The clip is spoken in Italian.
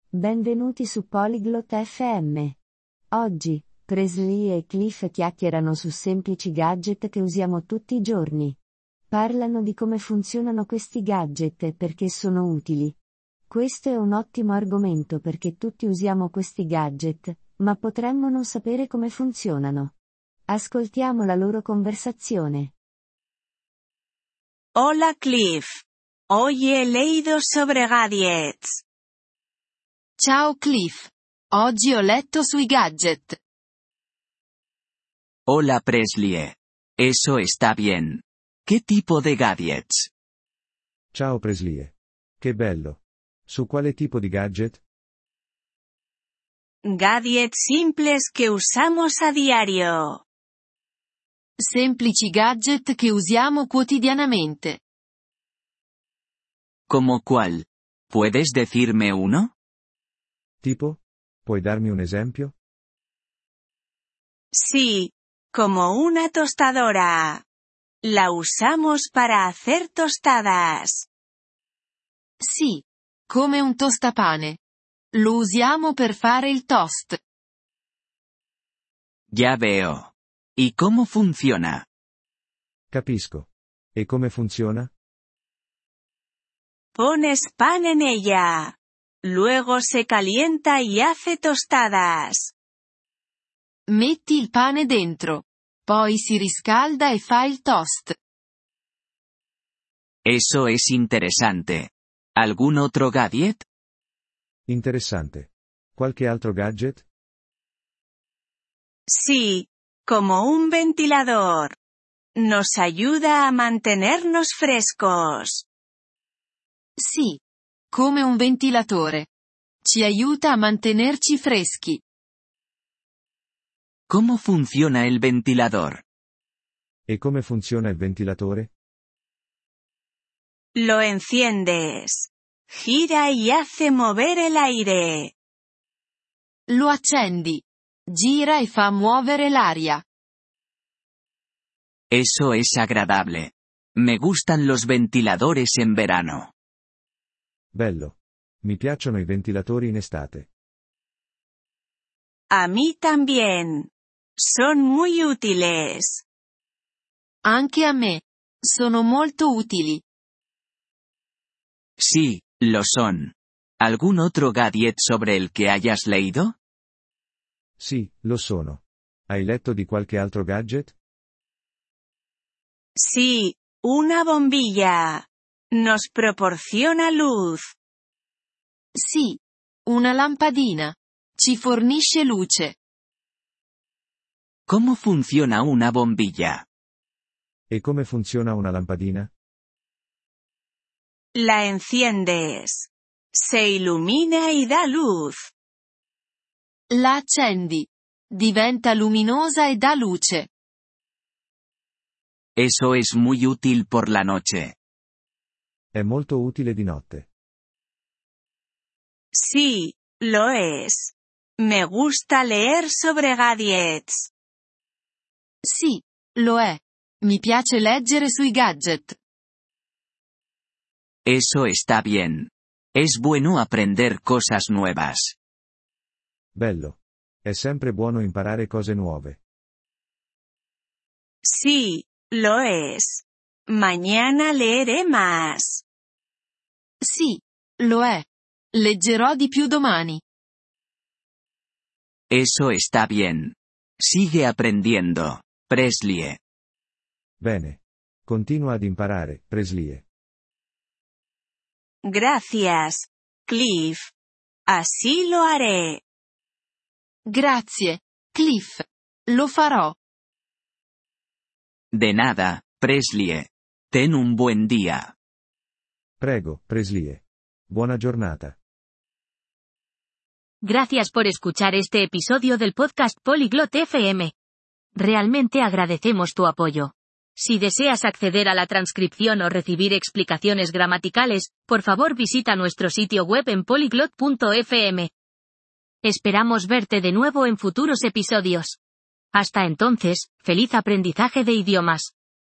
Benvenuti su Polyglot FM. Oggi, Presley e Cliff chiacchierano su semplici gadget che usiamo tutti i giorni. Parlano di come funzionano questi gadget e perché sono utili. Questo è un ottimo argomento perché tutti usiamo questi gadget, ma potremmo non sapere come funzionano. Ascoltiamo la loro conversazione. Hola Cliff. Hoy he leído sobre gadgets. Ciao Cliff. Oggi ho letto sui gadget. Hola Presley. Eso está bien. ¿Qué tipo de gadgets? Ciao Presley. Che bello. Su quale tipo di gadget? Gadgets simples que usamos a diario. Semplici gadget che usiamo quotidianamente. ¿Cómo cuál? ¿Puedes decirme uno? Tipo? Puoi darmi un esempio? Sí, como una tostadora. La usamos para hacer tostadas. Sì. Come un tostapane. Lo usiamo per fare il toast. Ya veo. ¿Y cómo funciona? Capisco. E come funziona? Pones pan en ella. Luego se calienta y hace tostadas. Metti il pane dentro. Poi si riscalda e fa il toast. Eso es interesante. ¿Algún otro gadget? Interessante. Qualche altro gadget? Sí, como un ventilador. Nos ayuda a mantenernos frescos. Sì. Come un ventilatore. Ci aiuta a mantenerci freschi. ¿Cómo funciona el ventilador? E come funziona il ventilatore? Lo enciendes. Gira y hace mover el aire. Lo accendi. Gira e fa muovere l'aria. Eso es agradable. Me gustan los ventiladores en verano. Bello. Mi piacciono i ventilatori in estate. A mí también. Son muy útiles. Anche a me. Sono molto utili. Sí, lo son. ¿Algún otro gadget sobre el que hayas leído? Sì, lo sono. Hai letto di qualche altro gadget? Sí, una bombilla. Nos proporciona luz. Sì. Una lampadina. Ci fornisce luce. ¿Cómo funciona una bombilla? E come funziona una lampadina? La enciendes. Se ilumina y da luz. La accendi. Diventa luminosa e dà luce. Eso es muy útil por la noche. È molto utile di notte. Sí, lo es. Me gusta leer sobre gadgets. Sì. Lo è. Mi piace leggere sui gadget. Eso está bien. Es bueno aprender cosas nuevas. Bello. È sempre buono imparare cose nuove. Sí, lo es. Mañana leeré más. Sì. Lo è. Leggerò di più domani. Eso está bien. Sigue aprendiendo, Presley. Bene. Continua ad imparare, Presley. Gracias, Cliff. Así lo haré. Grazie, Cliff. Lo farò. De nada, Presley. Ten un buen día. Prego, Presley. Buona giornata. Gracias por escuchar este episodio del podcast Polyglot FM. Realmente agradecemos tu apoyo. Si deseas acceder a la transcripción o recibir explicaciones gramaticales, por favor visita nuestro sitio web en polyglot.fm. Esperamos verte de nuevo en futuros episodios. Hasta entonces, feliz aprendizaje de idiomas.